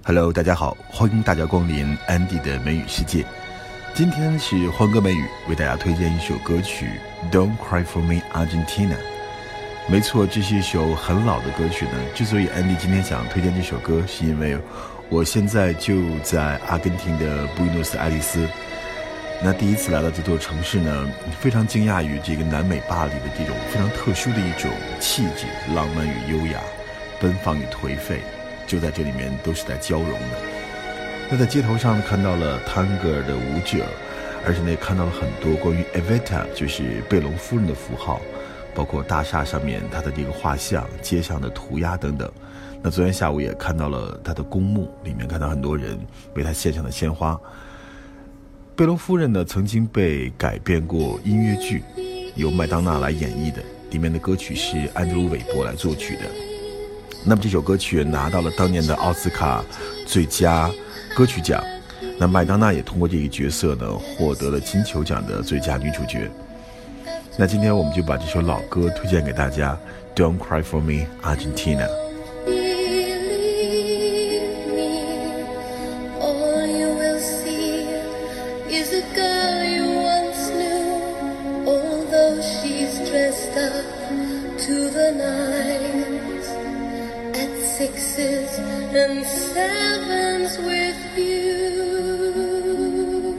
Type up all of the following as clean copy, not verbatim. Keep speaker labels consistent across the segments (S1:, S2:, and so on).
S1: Hello， 大家好，欢迎大家光临安迪的美语世界。今天是欢歌美语为大家推荐一首歌曲 Don't Cry For Me Argentina。 没错，这是一首很老的歌曲呢。之所以安迪今天想推荐这首歌，是因为我现在就在阿根廷的布宜诺斯艾利斯。那第一次来到这座城市呢，非常惊讶于这个南美巴黎的这种非常特殊的一种气质，浪漫与优雅，奔放与颓废，就在这里面都是在交融的。那在街头上看到了探戈的舞者，而且呢也看到了很多关于 Evita 就是贝隆夫人的符号，包括大厦上面她的这个画像，街上的涂鸦等等。那昨天下午也看到了她的公墓，里面看到很多人为她献上的鲜花。贝隆夫人呢曾经被改编过音乐剧，由麦当娜来演绎的，里面的歌曲是安德鲁·韦伯来作曲的。那么这首歌曲拿到了当年的奥斯卡最佳歌曲奖，那麦当娜也通过这个角色呢获得了金球奖的最佳女主角。那今天我们就把这首老歌推荐给大家 Don't Cry For Me Argentina。
S2: Sixes and sevens with you。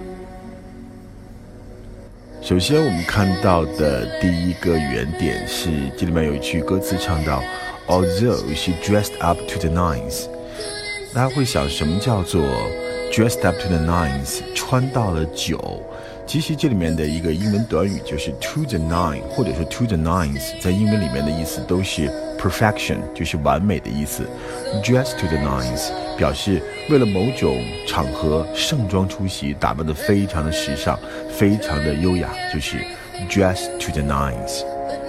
S1: 首先我们看到的第一个原点是这里面有一句歌词唱到 Although she dressed up to the nines。 大家会想什么叫做 dressed up to the nines， 穿到了九。其实这里面的一个英文短语就是 to the nine， 或者说 to the nines， 在英文里面的意思都是 perfection， 就是完美的意思。 dress to the nines 表示为了某种场合盛装出席，打扮得非常的时尚，非常的优雅，就是 dress to the nines。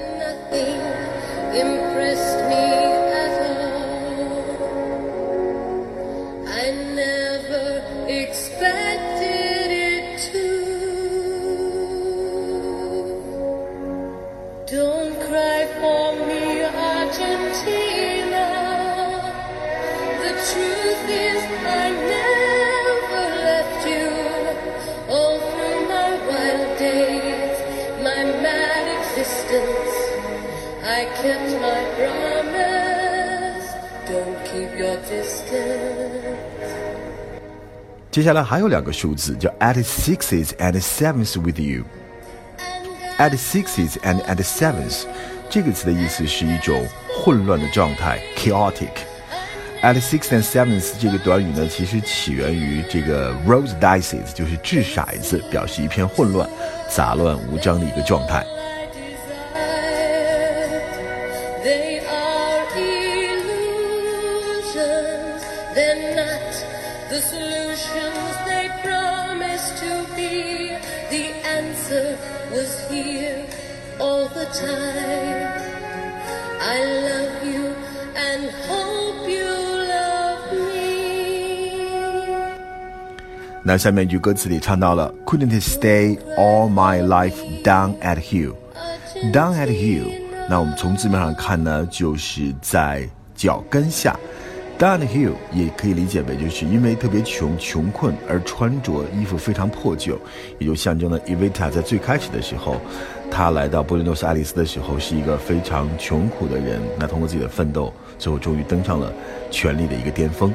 S2: Don't cry for me, Argentina. The truth is I never left you. All through my wild days, my mad existence, I kept my promise. Don't keep your distance.
S1: 接下来还有两个数字叫 at sixes and sevens with you。At sixes and at sevens 这个词的意思是一种混乱的状态 chaotic。At six and sevens 这个短语呢，其实起源于这个 roll dices， 就是掷骰子，表示一片混乱、杂乱无章的一个状态。
S2: Was here all the time. I love you and hope you love me.
S1: 那下面一句歌词里唱到了 Couldn't stay all my life down at heel。 Down at heel 那我们从字面上看呢，就是在脚跟下。Down at heel 也可以理解为就是因为特别穷困而穿着衣服非常破旧，也就象征了 Evita 在最开始的时候，他来到布宜诺斯艾利斯的时候是一个非常穷苦的人，那通过自己的奋斗，最后终于登上了权力的一个巅峰。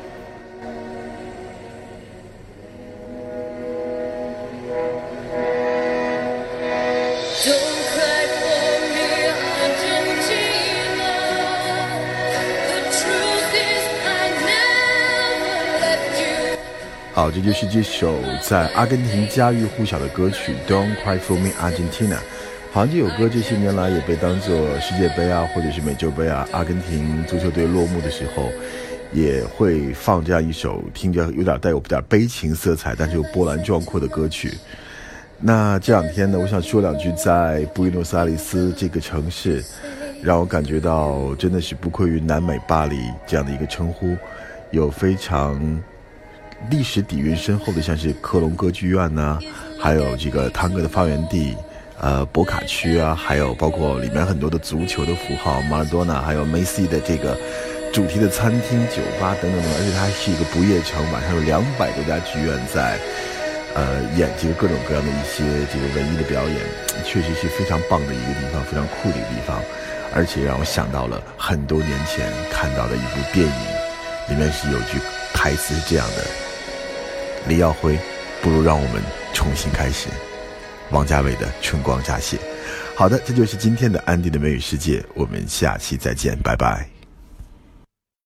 S1: 好，这就是这首在阿根廷家喻户晓的歌曲 Don't Cry For Me Argentina。 好像这首歌这些年来也被当作世界杯啊，或者是美洲杯啊，阿根廷足球队落幕的时候也会放这样一首听着有点带有点悲情色彩，但是又波澜壮阔的歌曲。那这两天呢，我想说两句，在布宜诺斯艾利斯这个城市让我感觉到真的是不愧于南美巴黎这样的一个称呼，有非常历史底蕴深厚的，像是科隆歌剧院啊，还有这个探戈的发源地博卡区啊，还有包括里面很多的足球的符号，马尔多纳还有梅西的这个主题的餐厅、酒吧等等等，而且它还是一个不夜城，晚上有200多家剧院在演这个各种各样的一些这个文艺的表演，确实是非常棒的一个地方，非常酷的一个地方。而且让我想到了很多年前看到的一部电影，里面是有句台词是这样的：李耀辉，不如让我们重新开始。王家卫的《春光乍泄》。好的，这就是今天的安迪的美语世界，我们下期再见，拜拜。